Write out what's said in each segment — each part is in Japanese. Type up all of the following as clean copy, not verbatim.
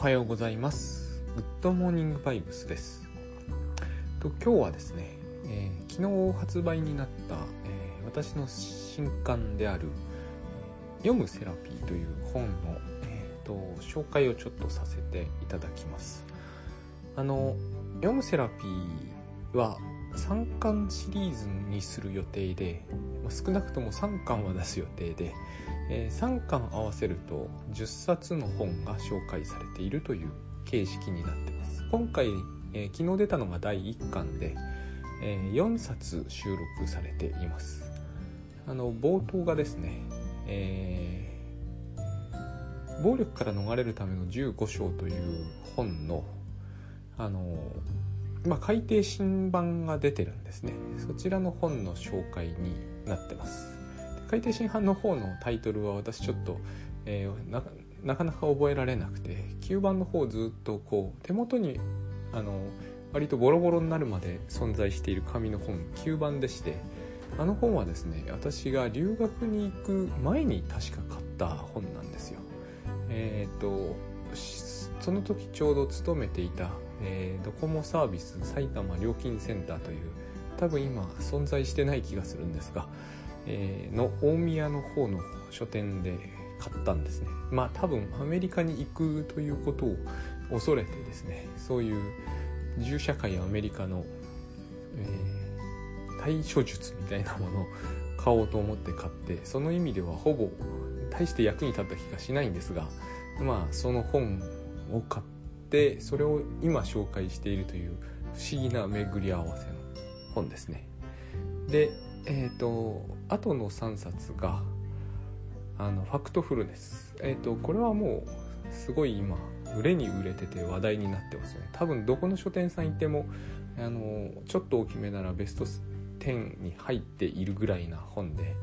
はようございます。グッドモーニングバイブスです。今日はですね、昨日発売になった、私の新刊である読むセラピーという本の、紹介をちょっとさせていただきます。読むセラピーは3巻シリーズにする予定で、少なくとも3巻は出す予定で、3巻合わせると10冊の本が紹介されているという形式になっています。今回、昨日出たのが第1巻で、4冊収録されています。冒頭がですね、暴力から逃れるための15章という本の改訂新版が出てるんですね。そちらの本の紹介になってます。改訂新版の方のタイトルは私ちょっと、なかなか覚えられなくて、旧版の方をずっと手元に割とボロボロになるまで存在している紙の本、旧版でして、本はですね、私が留学に行く前に確か買った本なんですよ。その時ちょうど勤めていた、ドコモサービス埼玉料金センターという、多分今存在してない気がするんですが、の大宮の方の書店で買ったんですね。多分アメリカに行くということを恐れてですね、そういう銃社会アメリカの、対処術みたいなものを買おうと思って買って、その意味ではほぼ大して役に立った気がしないんですが、その本を買ってそれを今紹介しているという不思議な巡り合わせの本ですね。で、あとの3冊がファクトフルネス。これはもうすごい今売れに売れてて話題になってますよね。多分どこの書店さん行ってもちょっと大きめならベスト10に入っているぐらいな本で、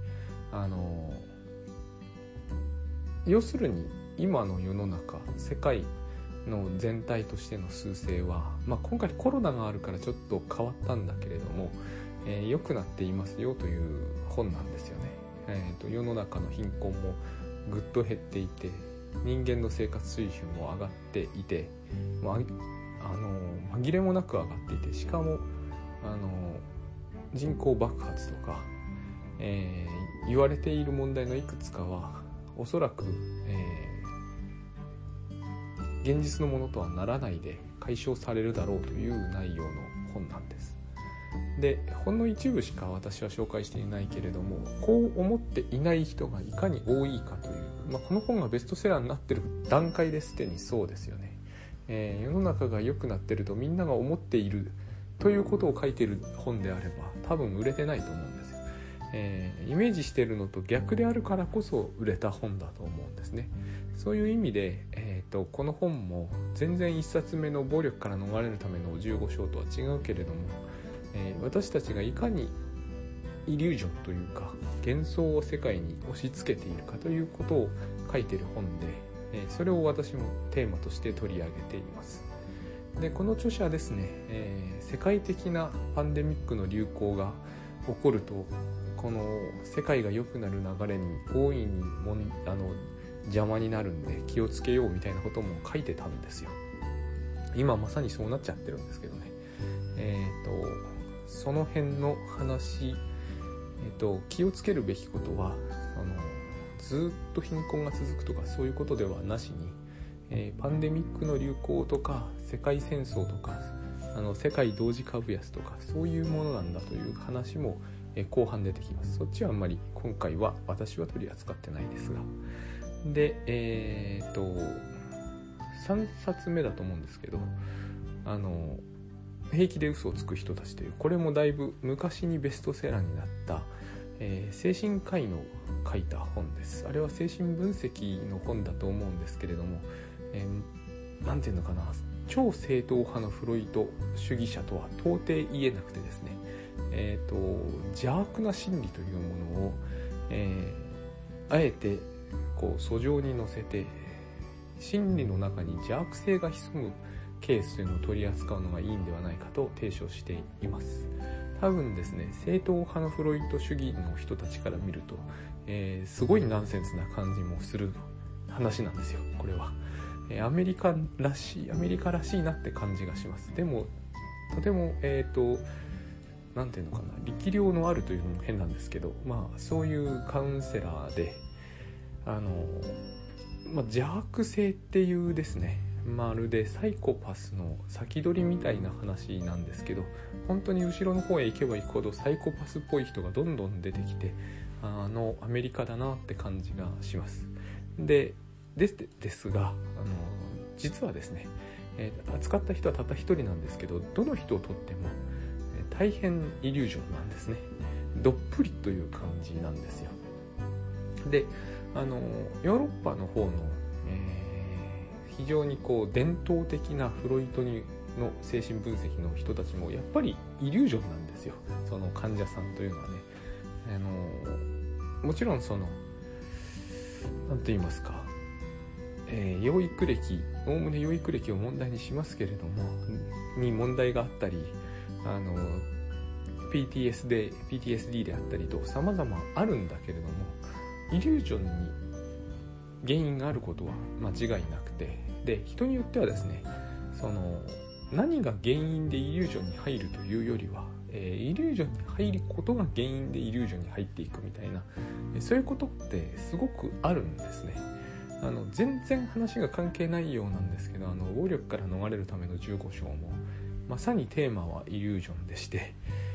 要するに今の世の中、世界の全体としての趨勢は、今回コロナがあるからちょっと変わったんだけれども、良くなっていますよという本なんですよね。世の中の貧困もぐっと減っていて、人間の生活水準も上がっていて、紛れもなく上がっていて、しかも人口爆発とか、言われている問題のいくつかはおそらく、現実のものとはならないで解消されるだろうという内容の本なんです。で、ほんの一部しか私は紹介していないけれども、こう思っていない人がいかに多いかという、この本がベストセラーになっている段階ですでにそうですよね。世の中が良くなっているとみんなが思っているということを書いている本であれば多分売れてないと思うんですよ。イメージしているのと逆であるからこそ売れた本だと思うんですね。そういう意味で、この本も全然1冊目の暴力から逃れるための15章とは違うけれども、私たちがいかにイリュージョンというか幻想を世界に押し付けているかということを書いている本で、それを私もテーマとして取り上げています。で、この著者はですね、世界的なパンデミックの流行が起こると、この世界が良くなる流れに大いに邪魔になるんで気をつけようみたいなことも書いてたんですよ。今まさにそうなっちゃってるんですけどね。その辺の話、気をつけるべきことはずっと貧困が続くとかそういうことではなしに、パンデミックの流行とか世界戦争とか世界同時株安とかそういうものなんだという話も、後半出てきます。そっちはあんまり今回は私は取り扱ってないですが、で、3冊目だと思うんですけど、平気で嘘をつく人たちという、これもだいぶ昔にベストセラーになった、精神科医の書いた本です。あれは精神分析の本だと思うんですけれども、なんていうのかな、超正統派のフロイト主義者とは到底言えなくてですね、邪悪な心理というものを、あえて訴状に載せて、心理の中に邪悪性が潜むケースというのを取り扱うのがいいんではないかと提唱しています。多分ですね、正統派のフロイト主義の人たちから見ると、すごいナンセンスな感じもする話なんですよ、これは。 アメリカらしいなって感じがします。でもとてもなんていうのかな、力量のあるというのも変なんですけど、そういうカウンセラーで邪悪性っていうですね、まるでサイコパスの先取りみたいな話なんですけど、本当に後ろの方へ行けば行くほどサイコパスっぽい人がどんどん出てきて、アメリカだなって感じがします。ですが実はですね、扱った人はたった一人なんですけど、どの人をとっても大変イリュージョンなんですね。どっぷりという感じなんですよ。でヨーロッパの方の、非常に伝統的なフロイトの精神分析の人たちもやっぱりイリュージョンなんですよ、その患者さんというのはね。もちろんなんと言いますか、養育歴、おおむね養育歴を問題にしますけれども、に問題があったり、PTSD であったりと様々あるんだけれども、イリュージョンに原因があることは間違いなくて、で人によってはですね、何が原因でイリュージョンに入るというよりは、イリュージョンに入ることが原因でイリュージョンに入っていくみたいな、そういうことってすごくあるんですね。全然話が関係ないようなんですけど、暴力から逃れるための15章もまさにテーマはイリュージョンでして、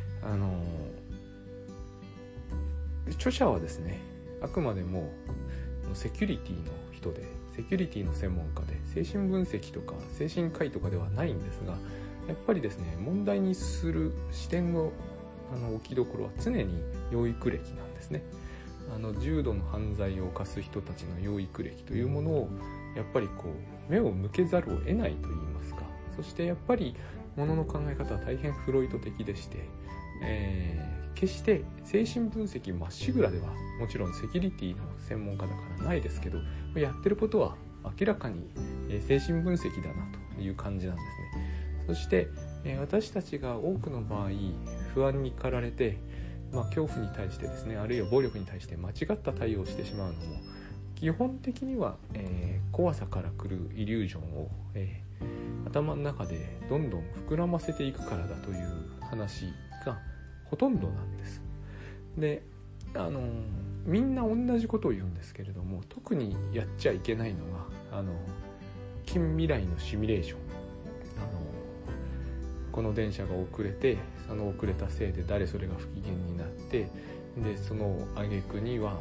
著者はですね、あくまでもセキュリティの人で、セキュリティの専門家で、精神分析とか精神科医とかではないんですが、やっぱりですね、問題にする視点の置きどころは常に養育歴なんですね。重度の犯罪を犯す人たちの養育歴というものをやっぱり目を向けざるを得ないといいますか、そしてやっぱり物の考え方は大変フロイト的でして、決して精神分析まっしぐらではもちろんセキュリティの専門家だからないですけど、やってることは明らかに精神分析だなという感じなんですね。そして私たちが多くの場合不安に駆られて、恐怖に対してですね、あるいは暴力に対して間違った対応をしてしまうのも基本的には、怖さから来るイリュージョンを、頭の中でどんどん膨らませていくからだという話がほとんどなんです。でみんな同じことを言うんですけれども、特にやっちゃいけないのが近未来のシミュレーション。この電車が遅れて、その遅れたせいで誰それが不機嫌になって、でその挙句には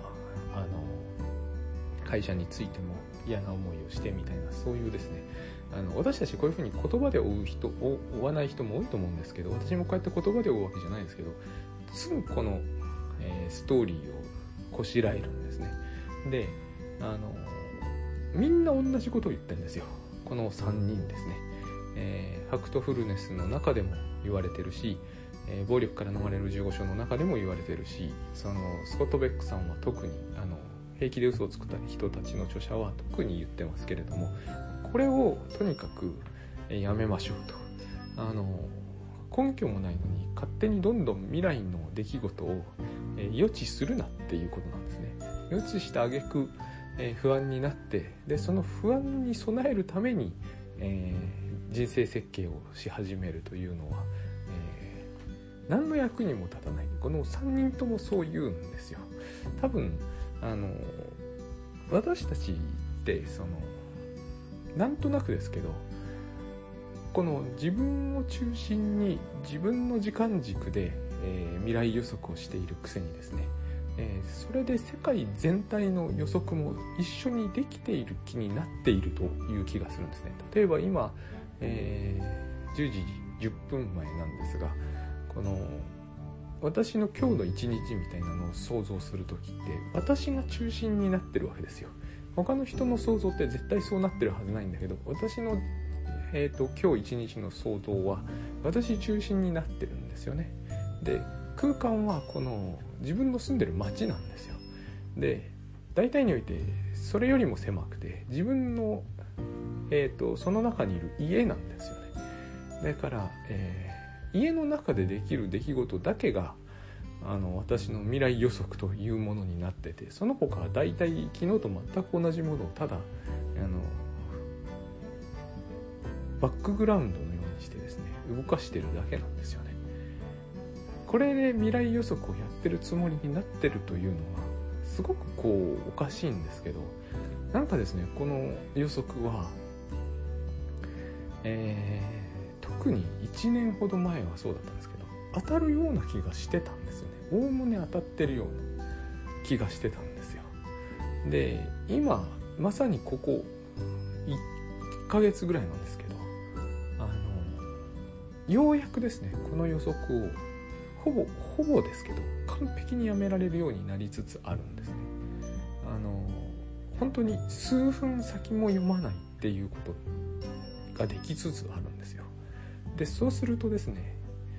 会社についても嫌な思いをしてみたいな、そういうですね、私たちこういうふうに言葉で追わない人も多いと思うんですけど、私もこうやって言葉で追うわけじゃないですけど、すぐこの、ストーリーをこしらえるんですね。でみんな同じことを言ってるんですよ、この3人ですね。ファクトフルネスの中でも言われてるし、暴力から逃れる15章の中でも言われてるし、スコット・ベックさんは特に平気で嘘をつく人たちの著者は特に言ってますけれども、これをとにかくやめましょうと。根拠もないのに勝手にどんどん未来の出来事を予知するなっていうことなんですね。予知した挙句不安になって、でその不安に備えるために人生設計をし始めるというのは、何の役にも立たない。この3人ともそう言うんですよ。多分私たちってなんとなくですけど、この自分を中心に自分の時間軸で、未来予測をしているくせにですね、それで世界全体の予測も一緒にできている気になっているという気がするんですね。例えば今、10時10分前なんですが、この私の今日の一日みたいなのを想像するときって私が中心になってるわけですよ。他の人の想像って絶対そうなってるはずないんだけど、私の、今日一日の想像は私中心になってるんですよね。で空間はこの自分の住んでる街なんですよ。で大体においてそれよりも狭くて、自分の、その中にいる家なんですよね。だから、家の中でできる出来事だけが私の未来予測というものになってて、その他は大体昨日と全く同じものをただバックグラウンドのようにしてですね動かしてるだけなんですよね。これで未来予測をやってるつもりになってるというのはすごくおかしいんですけど、なんかですねこの予測は、特に1年ほど前はそうだったんですけど当たるような気がしてたんですよね。おおむね当たってるような気がしてたんですよ。で今まさにここ1ヶ月ぐらいなんですけど、ようやくですねこの予測をほぼですけど完璧にやめられるようになりつつあるんですね。本当に数分先も読まないっていうことができつつあるんですよ。でそうするとですね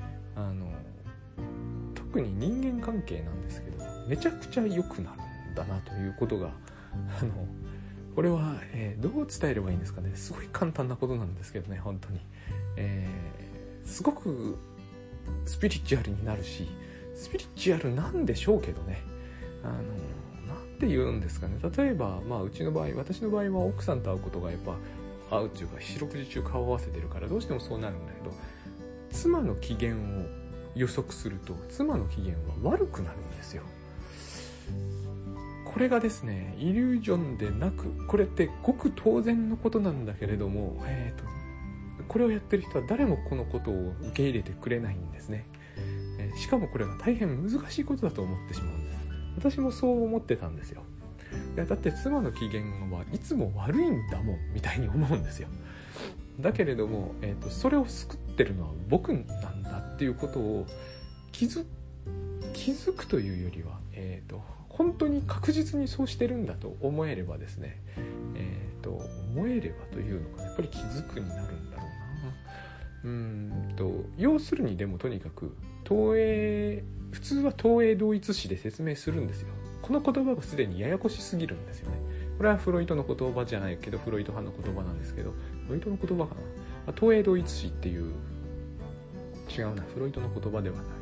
特に人間関係なんですけどめちゃくちゃ良くなるんだなということがこれは、どう伝えればいいんですかね。すごい簡単なことなんですけどね本当に、すごくスピリチュアルになるしスピリチュアルなんでしょうけどねなんて言うんですかね。例えば、私の場合は奥さんと会うことがやっぱ会うっていうか四六時中顔を合わせてるからどうしてもそうなるんだけど、妻の機嫌を予測すると妻の機嫌は悪くなるんですよ。これがですねイリュージョンでなく、これってごく当然のことなんだけれども、これをやってる人は誰もこのことを受け入れてくれないんですね。しかもこれが大変難しいことだと思ってしまうんです。私もそう思ってたんですよ。いやだって妻の機嫌はいつも悪いんだもんみたいに思うんですよ。だけれども、それを救ってるのは僕なんだっていうことを気づくというよりは、本当に確実にそうしてるんだと思えればですね、思えればというのがやっぱり気づくになるんだろうな。要するにでもとにかく普通は投影同一視で説明するんですよ。この言葉がすでにややこしすぎるんですよね。これはフロイトの言葉じゃないけどフロイト派の言葉なんですけど、フロイトの言葉かな、投影同一視っていう違うなフロイトの言葉ではない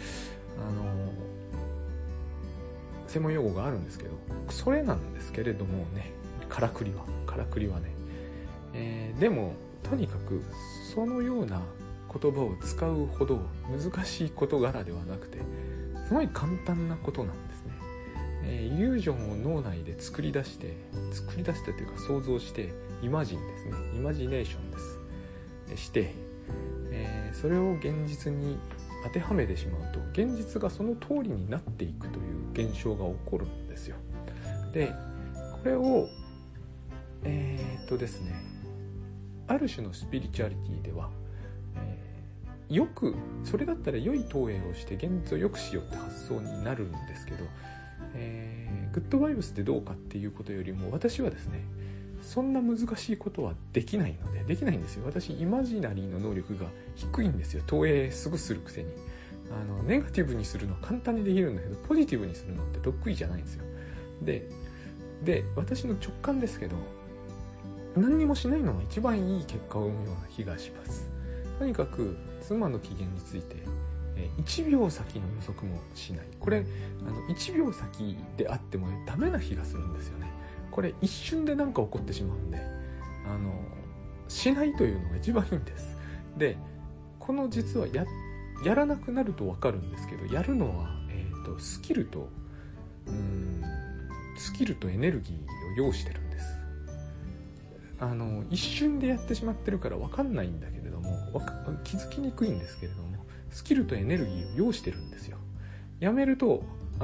専門用語があるんですけどそれなんですけれどもね、からくりはね、でもとにかくそのような言葉を使うほど難しい事柄ではなくてすごい簡単なことなんですね。イリュージョンを脳内で作り出してというか想像してイマジンですね、イマジネーションですして、それを現実に当てはめてしまうと現実がその通りになっていくという現象が起こるんですよ。でこれをですねある種のスピリチュアリティでは、よくそれだったら良い投影をして現実を良くしようって発想になるんですけど、グッドバイブスってどうかっていうことよりも私はですねそんな難しいことはできないんですよ。私イマジナリーの能力が低いんですよ。投影すぐするくせにネガティブにするのは簡単にできるんだけどポジティブにするのって得意じゃないんですよ。で私の直感ですけど何にもしないのが一番いい結果を生むような気がします。とにかく妻の機嫌について1秒先の予測もしない。これ1秒先であってもダメな気がするんですよね。これ一瞬で何か起こってしまうんでしないというのが一番いいんです。でこの実はやらなくなると分かるんですけどやるのは、スキルとエネルギーを要してるんです。一瞬でやってしまってるから分かんないんだけれども気づきにくいんですけれどもスキルとエネルギーを要してるんですよ。やめると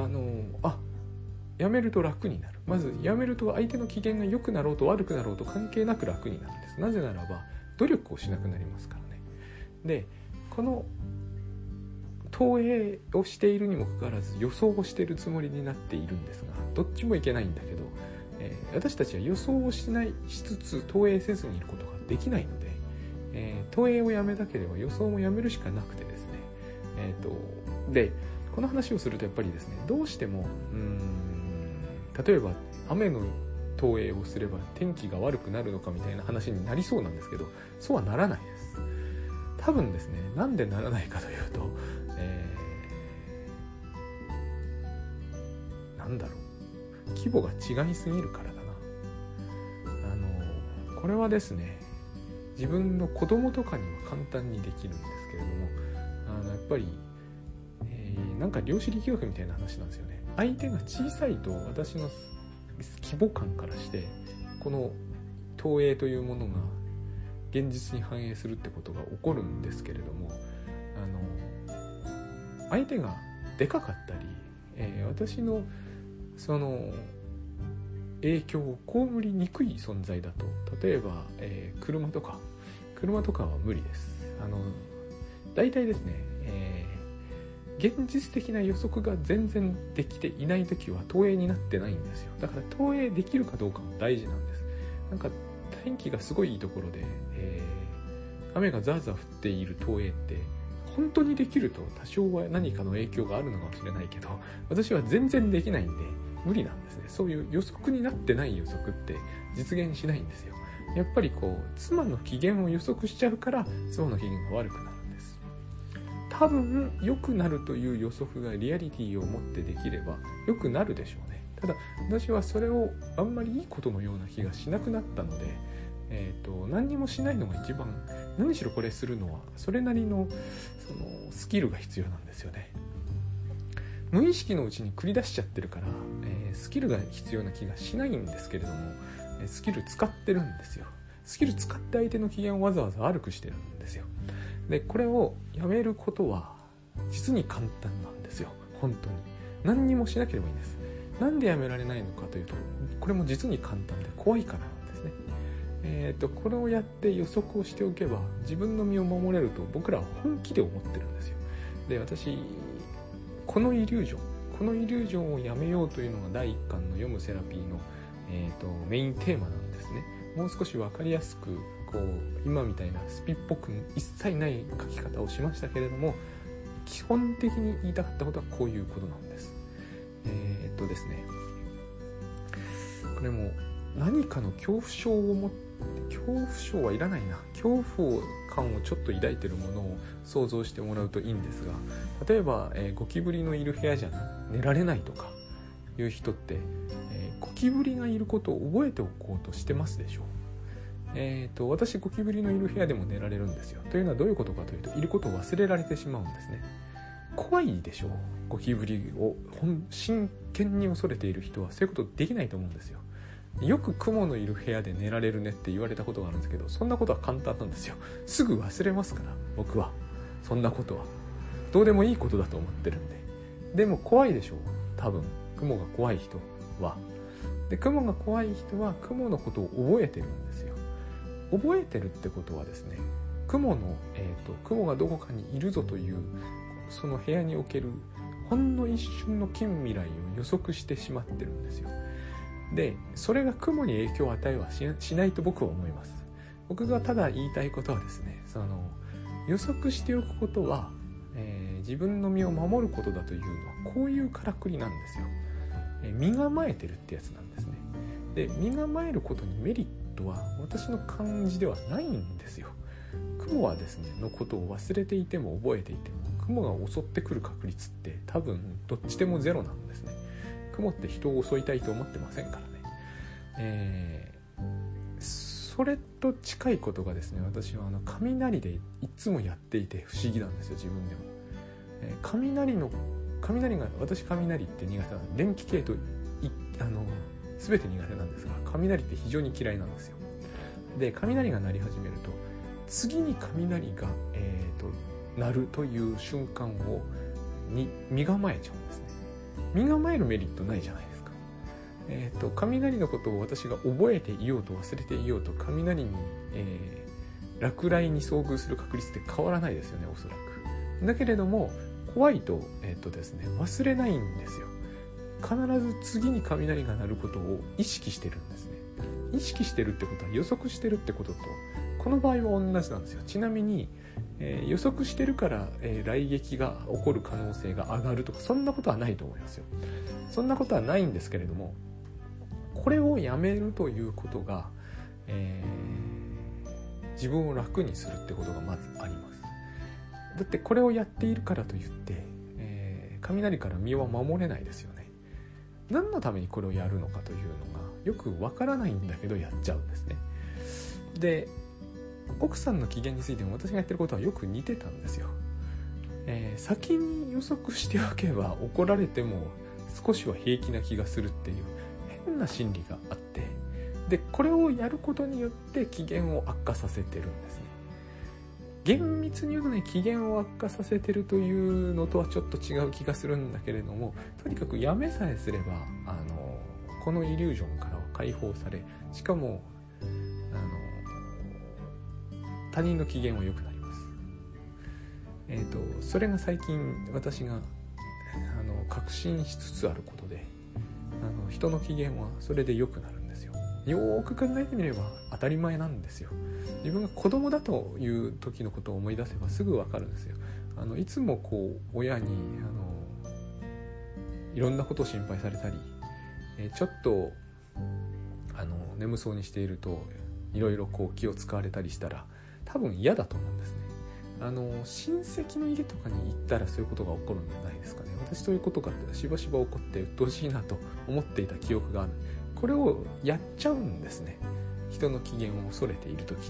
やめると楽になる。まずやめると相手の機嫌が良くなろうと悪くなろうと関係なく楽になるんです。なぜならば努力をしなくなりますからね。でこの投影をしているにもかかわらず予想をしているつもりになっているんですがどっちもいけないんだけど、私たちは予想をしつつ投影せずにいることができないので、投影をやめたければ予想もやめるしかなくてですね、でこの話をするとやっぱりですねどうしても例えば雨の投影をすれば天気が悪くなるのかみたいな話になりそうなんですけどそうはならないです。多分ですねなんでならないかというと、なんだろう規模が違いすぎるからだな。これはですね自分の子供とかには簡単にできるんですけれども、やっぱり、なんか量子力学みたいな話なんですよね。相手が小さいと私の規模感からしてこの投影というものが現実に反映するってことが起こるんですけれども、相手がでかかったり、私のその影響を被りにくい存在だと、例えば、車とかは無理です。大体ですね、現実的な予測が全然できていないときは投影になってないんですよ。だから投影できるかどうかも大事なんです。なんか天気がすごいいいところで、雨がザーザー降っている投影って本当にできると多少は何かの影響があるのかもしれないけど、私は全然できないんで無理なんですね。そういう予測になってない予測って実現しないんですよ。やっぱりこう妻の機嫌を予測しちゃうから妻の機嫌が悪くなるんです。多分良くなるという予測がリアリティを持ってできれば良くなるでしょうね。ただ私はそれをあんまりいいことのような気がしなくなったので、何にもしないのが一番、何しろこれするのはそれなりのそのスキルが必要なんですよね。無意識のうちに繰り出しちゃってるから、スキルが必要な気がしないんですけれども、スキル使ってるんですよ。スキル使って相手の機嫌をわざわざ悪くしてるんですよ。でこれをやめることは実に簡単なんですよ。本当に何にもしなければいいんです。なんでやめられないのかというと、これも実に簡単で怖いからなんですね。これをやって予測をしておけば自分の身を守れると僕らは本気で思ってるんですよ。で私このイリュージョンをやめようというのが第1巻の読むセラピーの、メインテーマなんですね。もう少し分かりやすくこう今みたいなスピっぽく一切ない書き方をしましたけれども、基本的に言いたかったことはこういうことなんです。ですね、これも何かの恐怖症を持って、恐怖症はいらないな、恐怖感をちょっと抱いているものを想像してもらうといいんですが、例えば、ゴキブリのいる部屋じゃ寝られないとかいう人って、ゴキブリがいることを覚えておこうとしてますでしょう。私ゴキブリのいる部屋でも寝られるんですよ。というのはどういうことかというと、いることを忘れられてしまうんですね。怖いでしょう。ゴキブリを真剣に恐れている人はそういうことできないと思うんですよ。よくクモのいる部屋で寝られるねって言われたことがあるんですけど、そんなことは簡単なんですよ。すぐ忘れますから、僕はそんなことはどうでもいいことだと思ってるんで。でも怖いでしょう、多分クモが怖い人は。でクモが怖い人はクモのことを覚えてるんですよ。覚えてるってことはですね、クモがどこかにいるぞというその部屋におけるほんの一瞬の近未来を予測してしまってるんですよ。でそれが雲に影響を与えは しないと僕は思います。僕がただ言いたいことはですね、その予測しておくことは、自分の身を守ることだというのはこういうからくりなんですよ。身構えてるってやつなんですね。で身構えることにメリットは私の感じではないんですよ。雲はですねのことを忘れていても覚えていても、雲が襲ってくる確率って多分どっちでもゼロなんですね。雲って人を襲いたいと思ってませんからね。それと近いことがですね、私は雷でいつもやっていて不思議なんですよ、自分でも。雷が、私雷って苦手なので、電気系と全て苦手なんですが、雷って非常に嫌いなんですよ。で雷が鳴り始めると次に雷が、鳴るという瞬間に身構えちゃうんですね。身構えるメリットないじゃないですか。雷のことを私が覚えていようと忘れていようと、雷に、落雷に遭遇する確率って変わらないですよね、おそらく。だけれども怖いと、ですね、忘れないんですよ。必ず次に雷が鳴ることを意識してるんですね。意識してるってことは予測してるってこととこの場合は同じなんですよ。ちなみに、予測してるから、雷撃が起こる可能性が上がるとか、そんなことはないと思いますよ。そんなことはないんですけれども、これをやめるということが、自分を楽にするってことがまずあります。だってこれをやっているからといって、雷から身は守れないですよね。何のためにこれをやるのかというのがよくわからないんだけどやっちゃうんですね。で奥さんの機嫌についても私がやってることはよく似てたんですよ。先に予測しておけば怒られても少しは平気な気がするっていう変な心理があって、でこれをやることによって機嫌を悪化させてるんですね。厳密に言うとね、機嫌を悪化させてるというのとはちょっと違う気がするんだけれども、とにかくやめさえすればこのイリュージョンからは解放され、しかも他人の機嫌は良くなります。それが最近私が確信しつつあることで、人の機嫌はそれで良くなるんですよ。よーく考えてみれば当たり前なんですよ。自分が子供だという時のことを思い出せばすぐ分かるんですよ。いつもこう親にいろんなことを心配されたり、ちょっと眠そうにしているといろいろこう気を使われたりしたら多分嫌だと思うんですね。親戚の家とかに行ったらそういうことが起こるんじゃないですかね。私そういうことがしばしば起こって鬱陶しいなと思っていた記憶がある。これをやっちゃうんですね、人の機嫌を恐れている時って。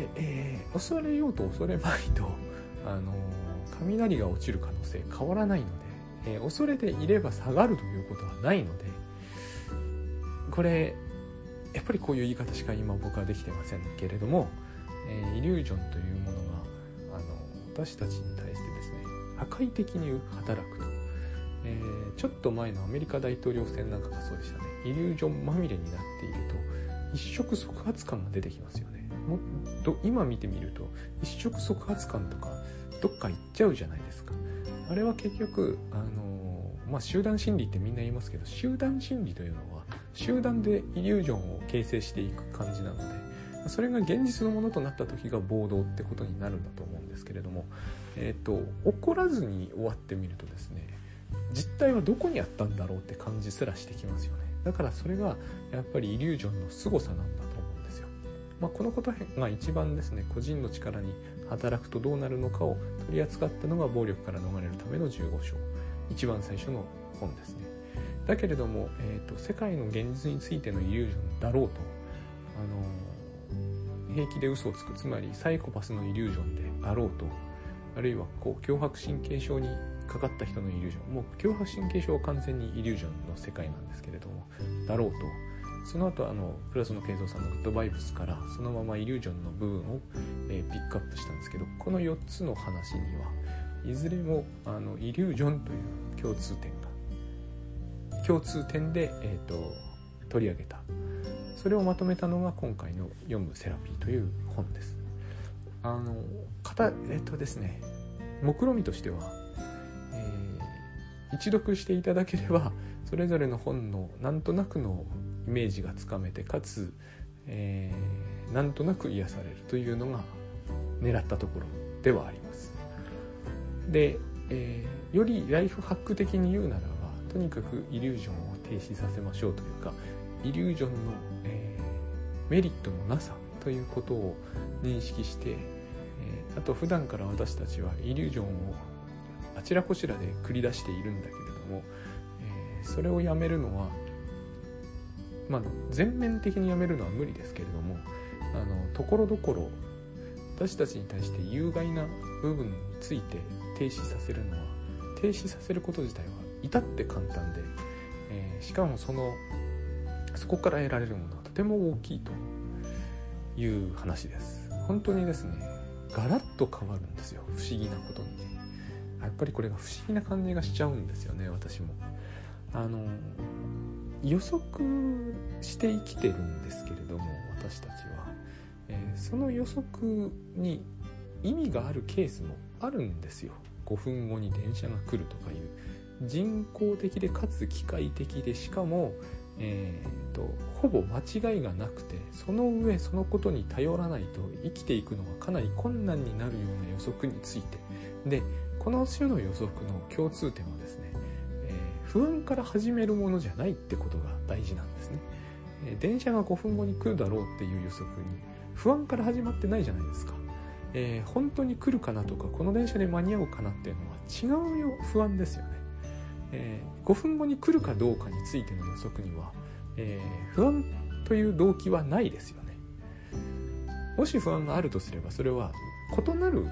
で、恐れようと恐れまいと雷が落ちる可能性変わらないので、恐れていれば下がるということはないので、これやっぱりこういう言い方しか今僕はできてませんけれども、イリュージョンというものが私たちに対してですね破壊的に働くと、ちょっと前のアメリカ大統領選なんかがそうでしたね。イリュージョンまみれになっていると一触即発感が出てきますよね。もっと今見てみると一触即発感とかどっか行っちゃうじゃないですか。あれは結局集団心理ってみんな言いますけど、集団心理というのは集団でイリュージョンを形成していく感じなので、それが現実のものとなった時が暴動ってことになるんだと思うんですけれども、怒らずに終わってみるとですね、実態はどこにあったんだろうって感じすらしてきますよね。だからそれがやっぱりイリュージョンの凄さなんだと思うんですよ。このことが一番ですね、個人の力に働くとどうなるのかを取り扱ったのが暴力から逃れるための15章、一番最初の本ですね。だけれども、世界の現実についてのイリュージョンだろうと平気で嘘をつく、つまりサイコパスのイリュージョンであろうと、あるいはこう強迫神経症にかかった人のイリュージョン、もう強迫神経症は完全にイリュージョンの世界なんですけれどもだろうと、その後倉園慶三さんのグッドバイブスからそのままイリュージョンの部分を、ピックアップしたんですけど、この4つの話にはいずれもイリュージョンという共通点で、取り上げた、それをまとめたのが今回の読むセラピーという本です。ですね、目論見としては、一読していただければそれぞれの本のなんとなくのイメージがつかめて、かつ、なんとなく癒されるというのが狙ったところではあります。で、よりライフハック的に言うならば、とにかくイリュージョンを停止させましょうというか、イリュージョンの、メリットのなさということを認識して、あと普段から私たちはイリュージョンをあちらこちらで繰り出しているんだけれども、それをやめるのは、全面的にやめるのは無理ですけれども、ところどころ私たちに対して有害な部分について停止させるのは、停止させること自体は至って簡単で、しかもそこから得られるものはとても大きいという話です。本当にですね、ガラッと変わるんですよ、不思議なことに。やっぱりこれが不思議な感じがしちゃうんですよね。私も予測して生きてるんですけれども、私たちは、その予測に意味があるケースもあるんですよ。5分後に電車が来るとかいう人工的でかつ機械的で、しかもほぼ間違いがなくて、その上そのことに頼らないと生きていくのがかなり困難になるような予測についてで、この種の予測の共通点はですね、不安から始めるものじゃないってことが大事なんですね。電車が5分後に来るだろうっていう予測に不安から始まってないじゃないですか。本当に来るかなとか、この電車で間に合うかなっていうのは違う不安ですよね。5分後に来るかどうかについての予測には、不安という動機はないですよね。 もし不安があるとすれば、それは異なる、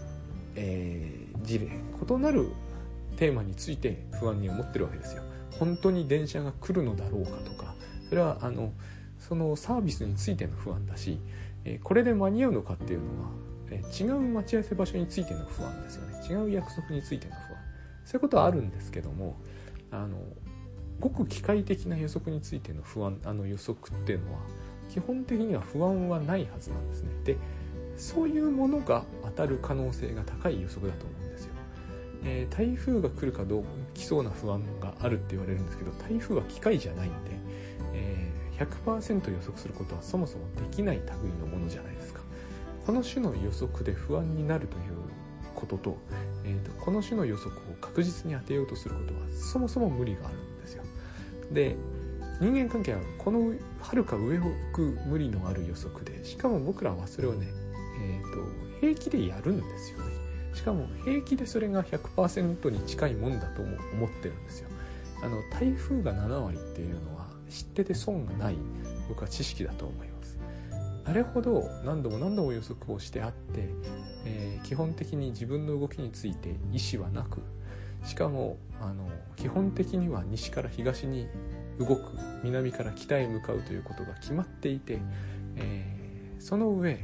事例、異なるテーマについて不安に思ってるわけですよ。本当に電車が来るのだろうかとか、それはそのサービスについての不安だし、これで間に合うのかっていうのは、違う待ち合わせ場所についての不安ですよね。違う約束についての不安、そういうことはあるんですけども、ごく機械的な予測についての不安、予測っていうのは基本的には不安はないはずなんですね。で、そういうものが当たる可能性が高い予測だと思うんですよ。台風が来るかどう来そうな不安があるって言われるんですけど、台風は機械じゃないんで、100% 予測することはそもそもできない類のものじゃないですか。この種の予測で不安になるということと、この種の予測を確実に当てようとすることはそもそも無理があるんですよ。で、人間関係はこの遥か上を行く無理のある予測で、しかも僕らはそれをね、平気でやるんですよね。しかも平気でそれが 100% に近いもんだと思ってるんですよ。台風が7割っていうのは知ってて損がない、僕は知識だと思います。あれほど何度も予測をしてあって、基本的に自分の動きについて意思はなく、しかも基本的には西から東に動く、南から北へ向かうということが決まっていて、その上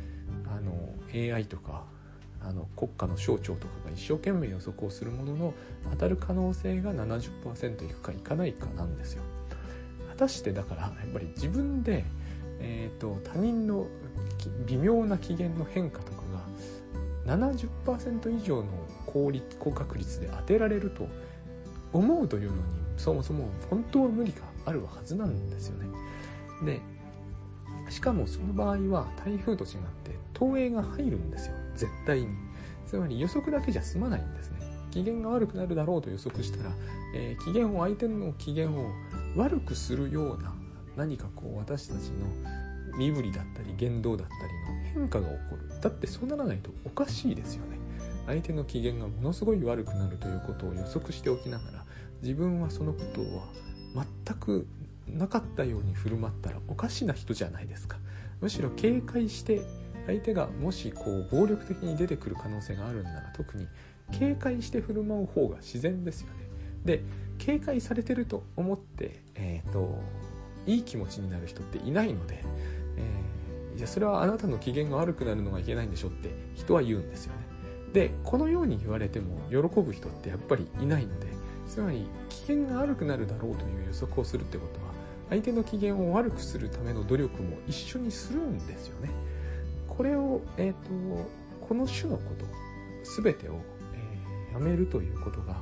AI とか国家の省庁とかが一生懸命予測をするものの、当たる可能性が 70% いくかいかないかなんですよ。果たしてだからやっぱり自分で、他人の微妙な機嫌の変化とかが 70% 以上の高確率で当てられると思うというのに、そもそも本当は無理があるはずなんですよね。で、しかもその場合は台風と違って投影が入るんですよ、絶対に。つまり予測だけじゃ済まないんですね。機嫌が悪くなるだろうと予測したら、相手の機嫌を悪くするような何か私たちの身振りだったり言動だったりの変化が起こる。だってそうならないとおかしいですよね。相手の機嫌がものすごい悪くなるということを予測しておきながら、自分はそのことは全くなかったように振る舞ったらおかしな人じゃないですか。むしろ警戒して、相手がもし暴力的に出てくる可能性があるんなら、特に警戒して振る舞う方が自然ですよね。で、警戒されてると思って、いい気持ちになる人っていないので、じゃあそれはあなたの機嫌が悪くなるのがいけないんでしょって人は言うんですよね。で、このように言われても喜ぶ人ってやっぱりいないので、つまり機嫌が悪くなるだろうという予測をするってことは、相手の機嫌を悪くするための努力も一緒にするんですよね。これを、この種のこと全てを、やめるということが、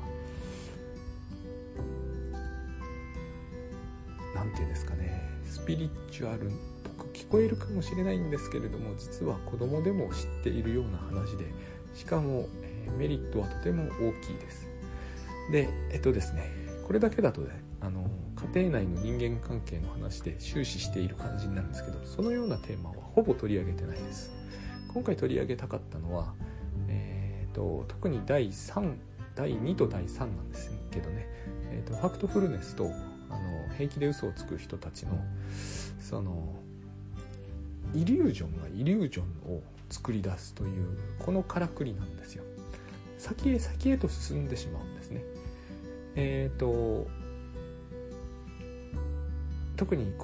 なんていうんですかね、スピリチュアルっぽく聞こえるかもしれないんですけれども、実は子供でも知っているような話で、しかも、メリットはとても大きいです。で、ですね、これだけだとね、家庭内の人間関係の話で終始している感じになるんですけど、そのようなテーマはほぼ取り上げてないです。今回取り上げたかったのは、特に第2と第3なんですけどね、ファクトフルネスと平気で嘘をつく人たちのそのイリュージョンがイリュージョンを作り出すというこのからくりなんですよ。先へと進んでしまうんですね。特に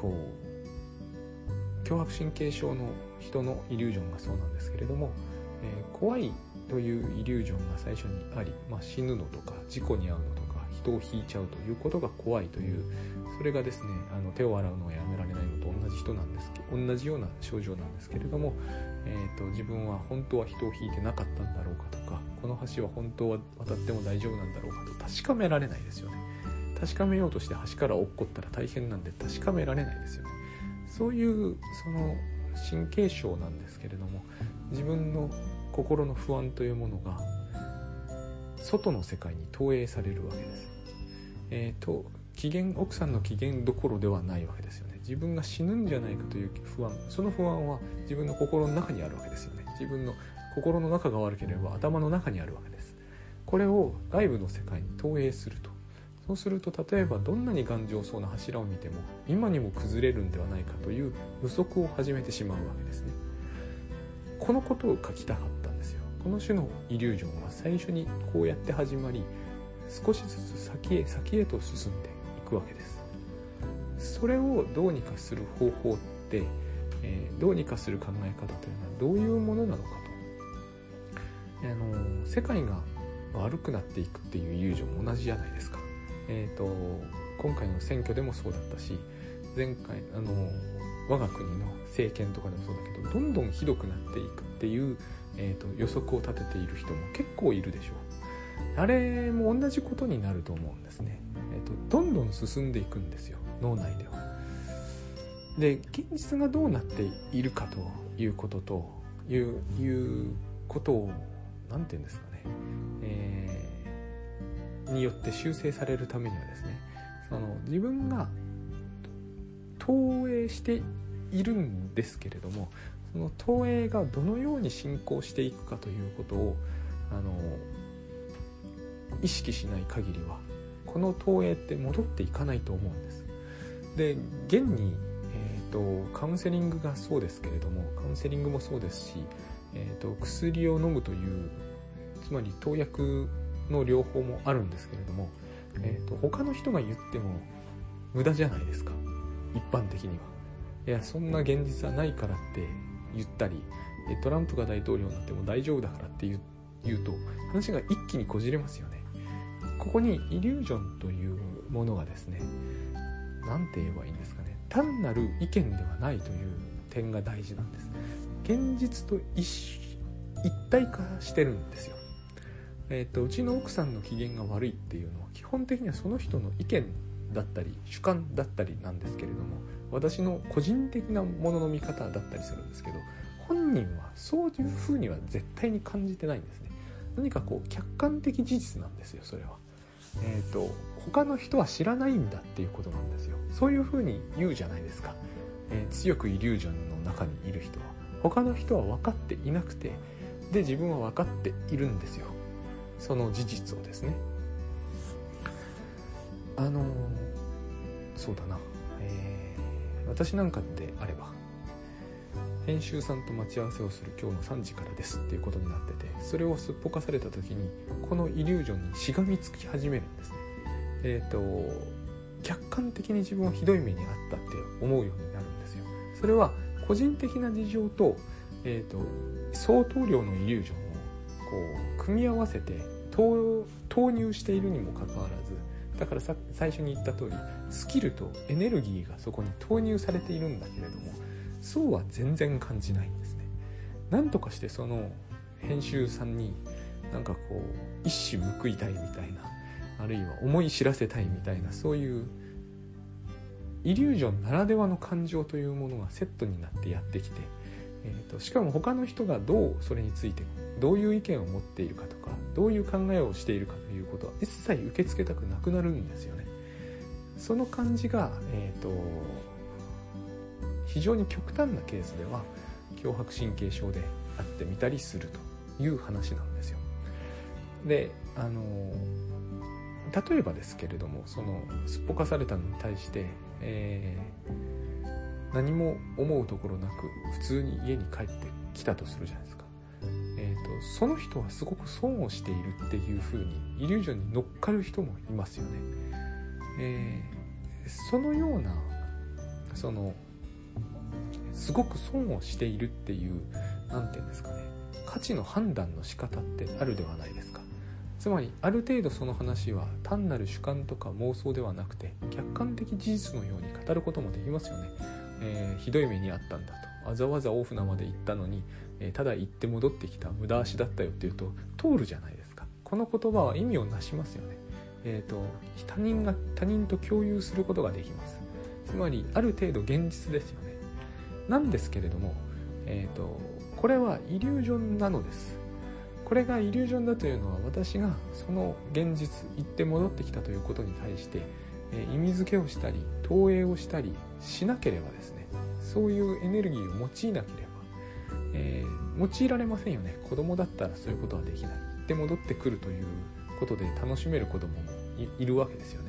強迫神経症の人のイリュージョンがそうなんですけれども、怖いというイリュージョンが最初にあり、死ぬのとか事故に遭うのとか人を引いちゃうということが怖いという、それがですね、手を洗うのをやめられないのと同じような症状なんですけれども、自分は本当は人を引いてなかったんだろうかとか、この橋は本当は渡っても大丈夫なんだろうかと確かめられないですよね。確かめようとして橋から落っこったら大変なんで確かめられないですよね。そういうその神経症なんですけれども、自分の心の不安というものが外の世界に投影されるわけです。奥さんの機嫌どころではないわけですよね。自分が死ぬんじゃないかという不安、その不安は自分の心の中にあるわけですよね。自分の心の中が悪ければ頭の中にあるわけです。これを外部の世界に投影すると、 そうすると例えばどんなに頑丈そうな柱を見ても今にも崩れるんではないかという予測を始めてしまうわけですね。このことを書きたかったんですよ。この種のイリュージョンは最初にこうやって始まり、少しずつ先へと進んでいくわけです。それをどうにかする方法って、どうにかする考え方というのはどういうものなのかと。世界が悪くなっていくっていうイリュージョンも同じじゃないですか。今回の選挙でもそうだったし、前回我が国の政権とかでもそうだけど、どんどんひどくなっていくっていう、予測を立てている人も結構いるでしょう。あれも同じことになると思うんですね。どんどん進んでいくんですよ、脳内では。で、現実がどうなっているかということということをなんていうんですかね、によって修正されるためにはですね、自分が投影しているんですけれども、その投影がどのように進行していくかということを意識しない限りはこの投影って戻っていかないと思うんです。で、現に、カウンセリングがそうですけれども、カウンセリングもそうですし、薬を飲むという、つまり投薬の療法もあるんですけれども、他の人が言っても無駄じゃないですか、一般的には。いや、そんな現実はないからって言ったり、トランプが大統領になっても大丈夫だからって言うと話が一気にこじれますよね。ここにイリュージョンというものがですね、なんて言えばいいんですかね、単なる意見ではないという点が大事なんです。現実と一体化してるんですよ。うちの奥さんの機嫌が悪いっていうのは基本的にはその人の意見だったり主観だったりなんですけれども、私の個人的なものの見方だったりするんですけど、本人はそういうふうには絶対に感じてないんですね。何かこう客観的事実なんですよ、それは。他の人は知らないんだっていうことなんですよ。そういうふうに言うじゃないですか。強くイリュージョンの中にいる人は他の人は分かっていなくて、で自分は分かっているんですよ、その事実をですね。そうだな、私なんかであれば編集さんと待ち合わせをする今日の3時からですっていうことになってて、それをすっぽかされた時にこのイリュージョンにしがみつき始めるんですね。客観的に自分はひどい目にあったって思うようになるんですよ。それは個人的な事情と、相当量のイリュージョンをこう組み合わせて投入しているにもかかわらず、だから最初に言った通りスキルとエネルギーがそこに投入されているんだけれども、そうは全然感じないんですね。なんとかしてその編集さんになんかこう一矢報いたいみたいな、あるいは思い知らせたいみたいな、そういうイリュージョンならではの感情というものがセットになってやってきて、しかも他の人がどうそれについてどういう意見を持っているかとか、どういう考えをしているかということは一切受け付けたくなくなるんですよね。その感じが、非常に極端なケースでは強迫神経症であってみたりするという話なんですよ。で、例えばですけれども、そのすっぽかされたのに対して、何も思うところなく普通に家に帰ってきたとするじゃないですか。その人はすごく損をしているっていう風にイリュージョンに乗っかる人もいますよね。そのようなすごく損をしているっていう、なんていうんですかね、価値の判断の仕方ってあるではないですか。つまりある程度その話は単なる主観とか妄想ではなくて客観的事実のように語ることもできますよね。ひどい目にあったんだと、わざわざ大船まで行ったのに、ただ行って戻ってきた無駄足だったよっていうと通るじゃないですか。この言葉は意味をなしますよね。他人と共有することができます。つまりある程度現実ですよね。なんですけれども、これはイリュージョンなのです。これがイリュージョンだというのは、私がその現実行って戻ってきたということに対して意味付けをしたり投影をしたりしなければですね、そういうエネルギーを用いなければ、用いられませんよね。子供だったらそういうことはできない。行って戻ってくるということで楽しめる子供も いるわけですよね。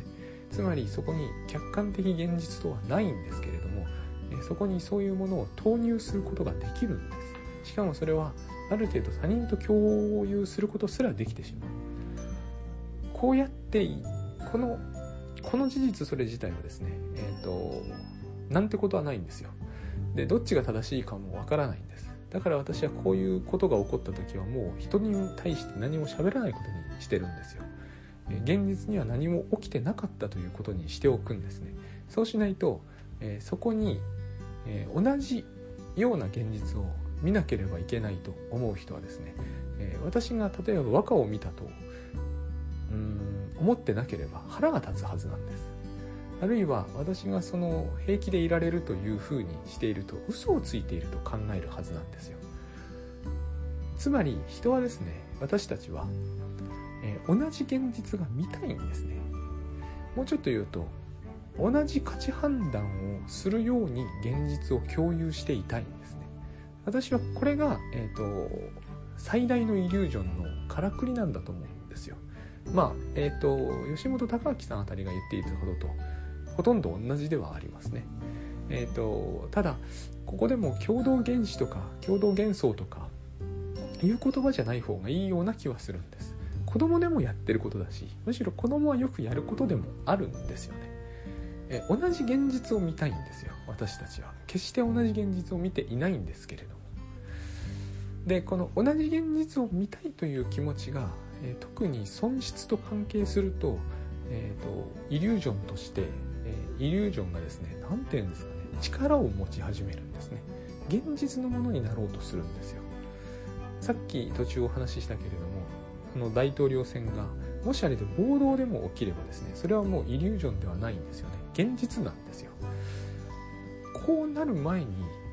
つまりそこに客観的現実とはないんですけれども、そこにそういうものを投入することができるんです。しかもそれはある程度他人と共有することすらできてしまう。こうやってこの事実それ自体はですね、なんてことはないんですよ。で、どっちが正しいかもわからないんです。だから私はこういうことが起こった時はもう人に対して何も喋らないことにしてるんですよ。現実には何も起きてなかったということにしておくんですね。そうしないと、そこに、同じような現実を見なければいけないと思う人はですね、私が例えば和歌を見たと思ってなければ腹が立つはずなんです。あるいは私がその平気でいられるというふうにしていると嘘をついていると考えるはずなんですよ。つまり人はですね、私たちは、同じ現実が見たいんですね。もうちょっと言うと、同じ価値判断をするように現実を共有していたいんですね。私はこれが、最大のイリュージョンのからくりなんだと思うんですよ。吉本隆明さんあたりが言っていたこととほとんど同じではありますね。ただここでも共同原子とか共同幻想とかいう言葉じゃない方がいいような気はするんです。子供でもやってることだし、むしろ子供はよくやることでもあるんですよね。同じ現実を見たいんですよ。私たちは決して同じ現実を見ていないんですけれども、でこの同じ現実を見たいという気持ちが、特に損失と関係すると、イリュージョンとして、イリュージョンがですね、なんていうんですかね、力を持ち始めるんですね。現実のものになろうとするんですよ。さっき途中お話ししたけれども、大統領選がもしあれで暴動でも起きればですね、それはもうイリュージョンではないんですよね。現実なんですよ。こうなる前に、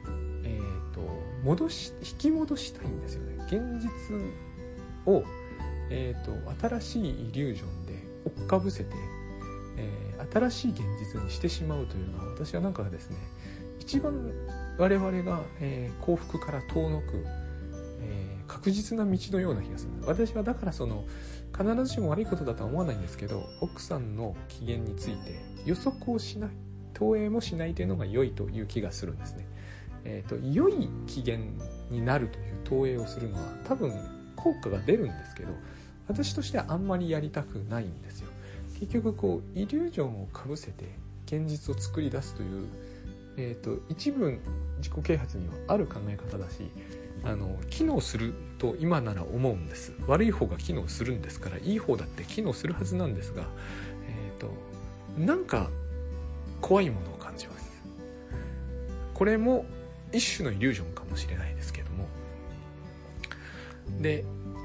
引き戻したいんですよね。現実を、新しいイリュージョンで追っかぶせて、新しい現実にしてしまうというのは、私はなんかですね、一番我々が、幸福から遠のく、確実な道のような気がする。私はだから必ずしも悪いことだとは思わないんですけど、奥さんの機嫌について予測をしない、投影もしないというのが良いという気がするんですね。良い機嫌になるという投影をするのは多分効果が出るんですけど、私としてはあんまりやりたくないんですよ。結局イリュージョンをかぶせて現実を作り出すという、一部自己啓発にはある考え方だし、機能すると今なら思うんです。悪い方が機能するんですから、いい方だって機能するはずなんですが、なんか怖いものを感じます。これも一種のイリュージョンかもしれないですけども、で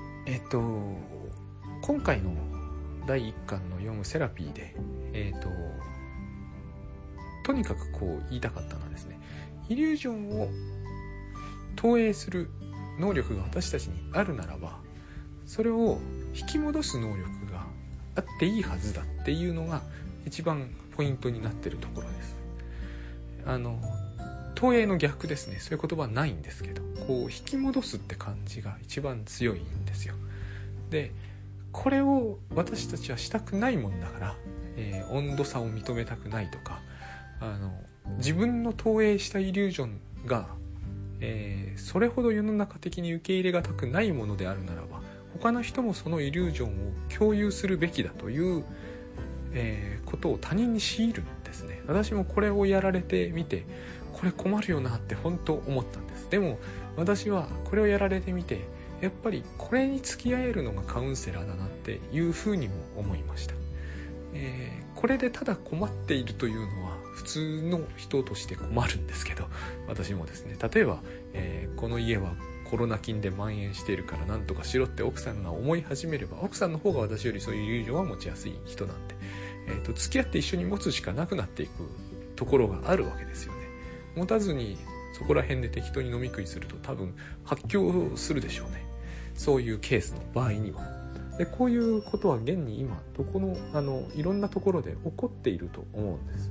今回の第1巻の読むセラピーでとにかく言いたかったのはですね、イリュージョンを投影する能力が私たちにあるならば、それを引き戻す能力があっていいはずだっていうのが一番ポイントになっているところです。投影の逆ですね。そういう言葉はないんですけど、引き戻すって感じが一番強いんですよ。で、これを私たちはしたくないもんだから、温度差を認めたくないとか、自分の投影したイリュージョンが、それほど世の中的に受け入れがたくないものであるならば、他の人もそのイリュージョンを共有するべきだという、ことを他人に強いるんですね。私もこれをやられてみて、これ困るよなって本当思ったんです。でも私はこれをやられてみて、やっぱりこれに付き合えるのがカウンセラーだなっていうふうにも思いました。これでただ困っているというのは普通の人として困るんですけど、私もですね、例えば、この家はコロナ菌で蔓延しているからなんとかしろって奥さんが思い始めれば、奥さんの方が私よりそういうイリュージョンは持ちやすい人なんで、付き合って一緒に持つしかなくなっていくところがあるわけですよね。持たずにそこら辺で適当に飲み食いすると多分発狂するでしょうね。そういうケースの場合には。で、こういうことは現に今いろんなところで起こっていると思うんです。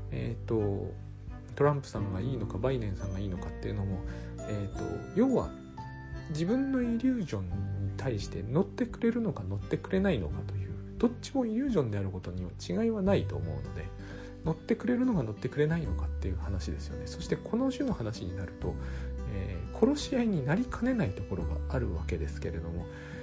トランプさんがいいのかバイデンさんがいいのかっていうのも、要は自分のイリュージョンに対して乗ってくれるのか乗ってくれないのかというどっちもイリュージョンであることには違いはないと思うので、乗ってくれるのか乗ってくれないのかっていう話ですよね。そしてこの種の話になると、殺し合いになりかねないところがあるわけですけれども、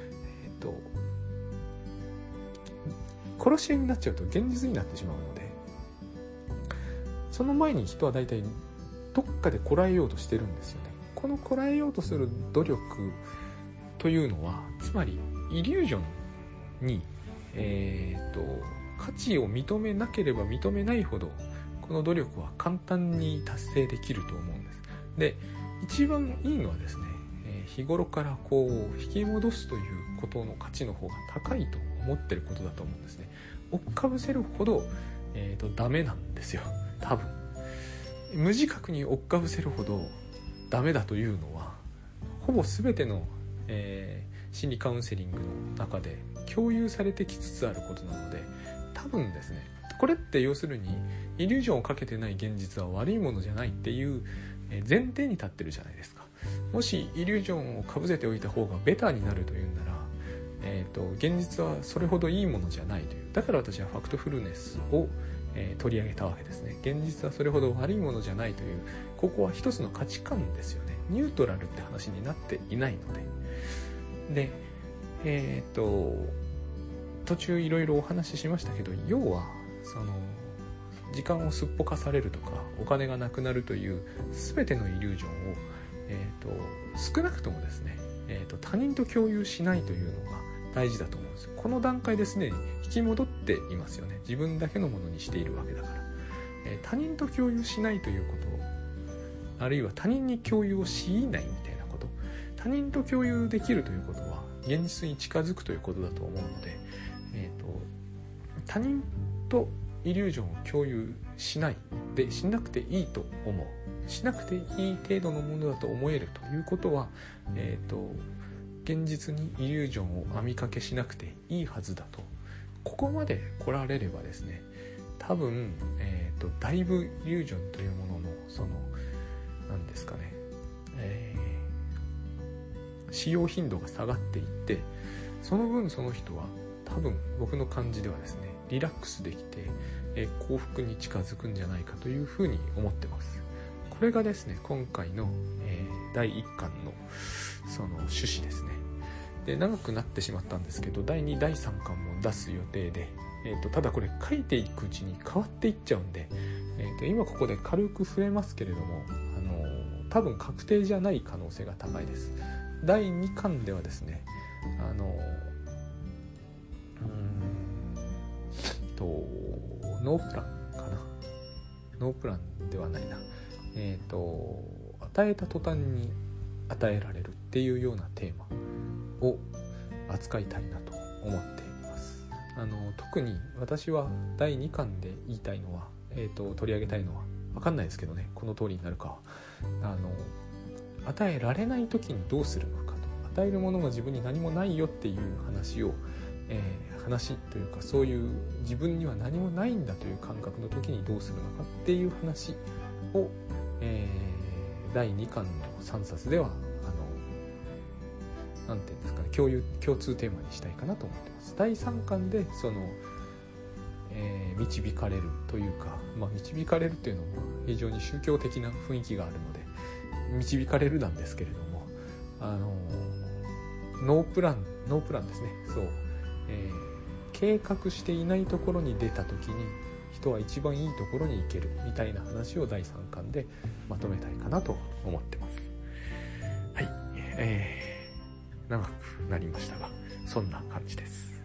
殺し合いになっちゃうと現実になってしまうので、その前に人は大体どっかでこらえようとしてるんですよね。このこらえようとする努力というのは、つまりイリュージョンに、価値を認めなければ認めないほどこの努力は簡単に達成できると思うんです。で、一番いいのはですね、日頃からこう引き戻すということの価値の方が高いと思ってることだと思うんですね。追っかぶせるほど、ダメなんですよ。多分無自覚に追っかぶせるほどダメだというのは、ほぼ全ての、心理カウンセリングの中で共有されてきつつあることなので、多分ですね、これって要するにイリュージョンをかけてない現実は悪いものじゃないっていう前提に立ってるじゃないですか。もしイリュージョンをかぶせておいた方がベターになるというんなら、現実はそれほどいいものじゃないという。だから私はファクトフルネスを、取り上げたわけですね。現実はそれほど悪いものじゃないという、ここは一つの価値観ですよね。ニュートラルって話になっていないので。で、途中いろいろお話ししましたけど、要はその時間をすっぽかされるとかお金がなくなるという全てのイリュージョンを、少なくともですね、他人と共有しないというのが大事だと思うんですよ。この段階ですでに引き戻っていますよね。自分だけのものにしているわけだから、他人と共有しないということ、あるいは他人に共有を強いないみたいなこと、他人と共有できるということは現実に近づくということだと思うので、他人とイリュージョンを共有しないで、しなくていいと思う、しなくていい程度のものだと思えるということは、現実にイリュージョンを網掛けしなくていいはずだと、ここまで来られればですね、多分、だいぶイリュージョンというもののその何ですかね、使用頻度が下がっていって、その分その人は多分僕の感じではですね、リラックスできて、幸福に近づくんじゃないかというふうに思ってます。これがですね、今回の、第1巻のその趣旨ですね。で、長くなってしまったんですけど、第2、第3巻も出す予定で、ただこれ書いていくうちに変わっていっちゃうんで、今ここで軽く触れますけれども、多分確定じゃない可能性が高いです。第2巻ではですね、ノープランかな、ノープランではないな、与えた途端に与えられるっていうようなテーマを扱いたいなと思っています。特に私は第2巻で言いたいのは、取り上げたいのは分かんないですけどね、この通りになるかは、与えられない時にどうするのかと、与えるものが自分に何もないよっていう話を、話というか、そういう自分には何もないんだという感覚の時にどうするのかっていう話を、第2巻の3冊ではなんていうんですかね、共通テーマにしたいかなと思ってます。第3巻でその、導かれるというか、導かれるっていうのも非常に宗教的な雰囲気があるので導かれるなんですけれども、ノープランですね。そう、計画していないところに出た時に人は一番いいところに行けるみたいな話を第3巻でまとめたいかなと思ってます。はい、長くなりましたがそんな感じです。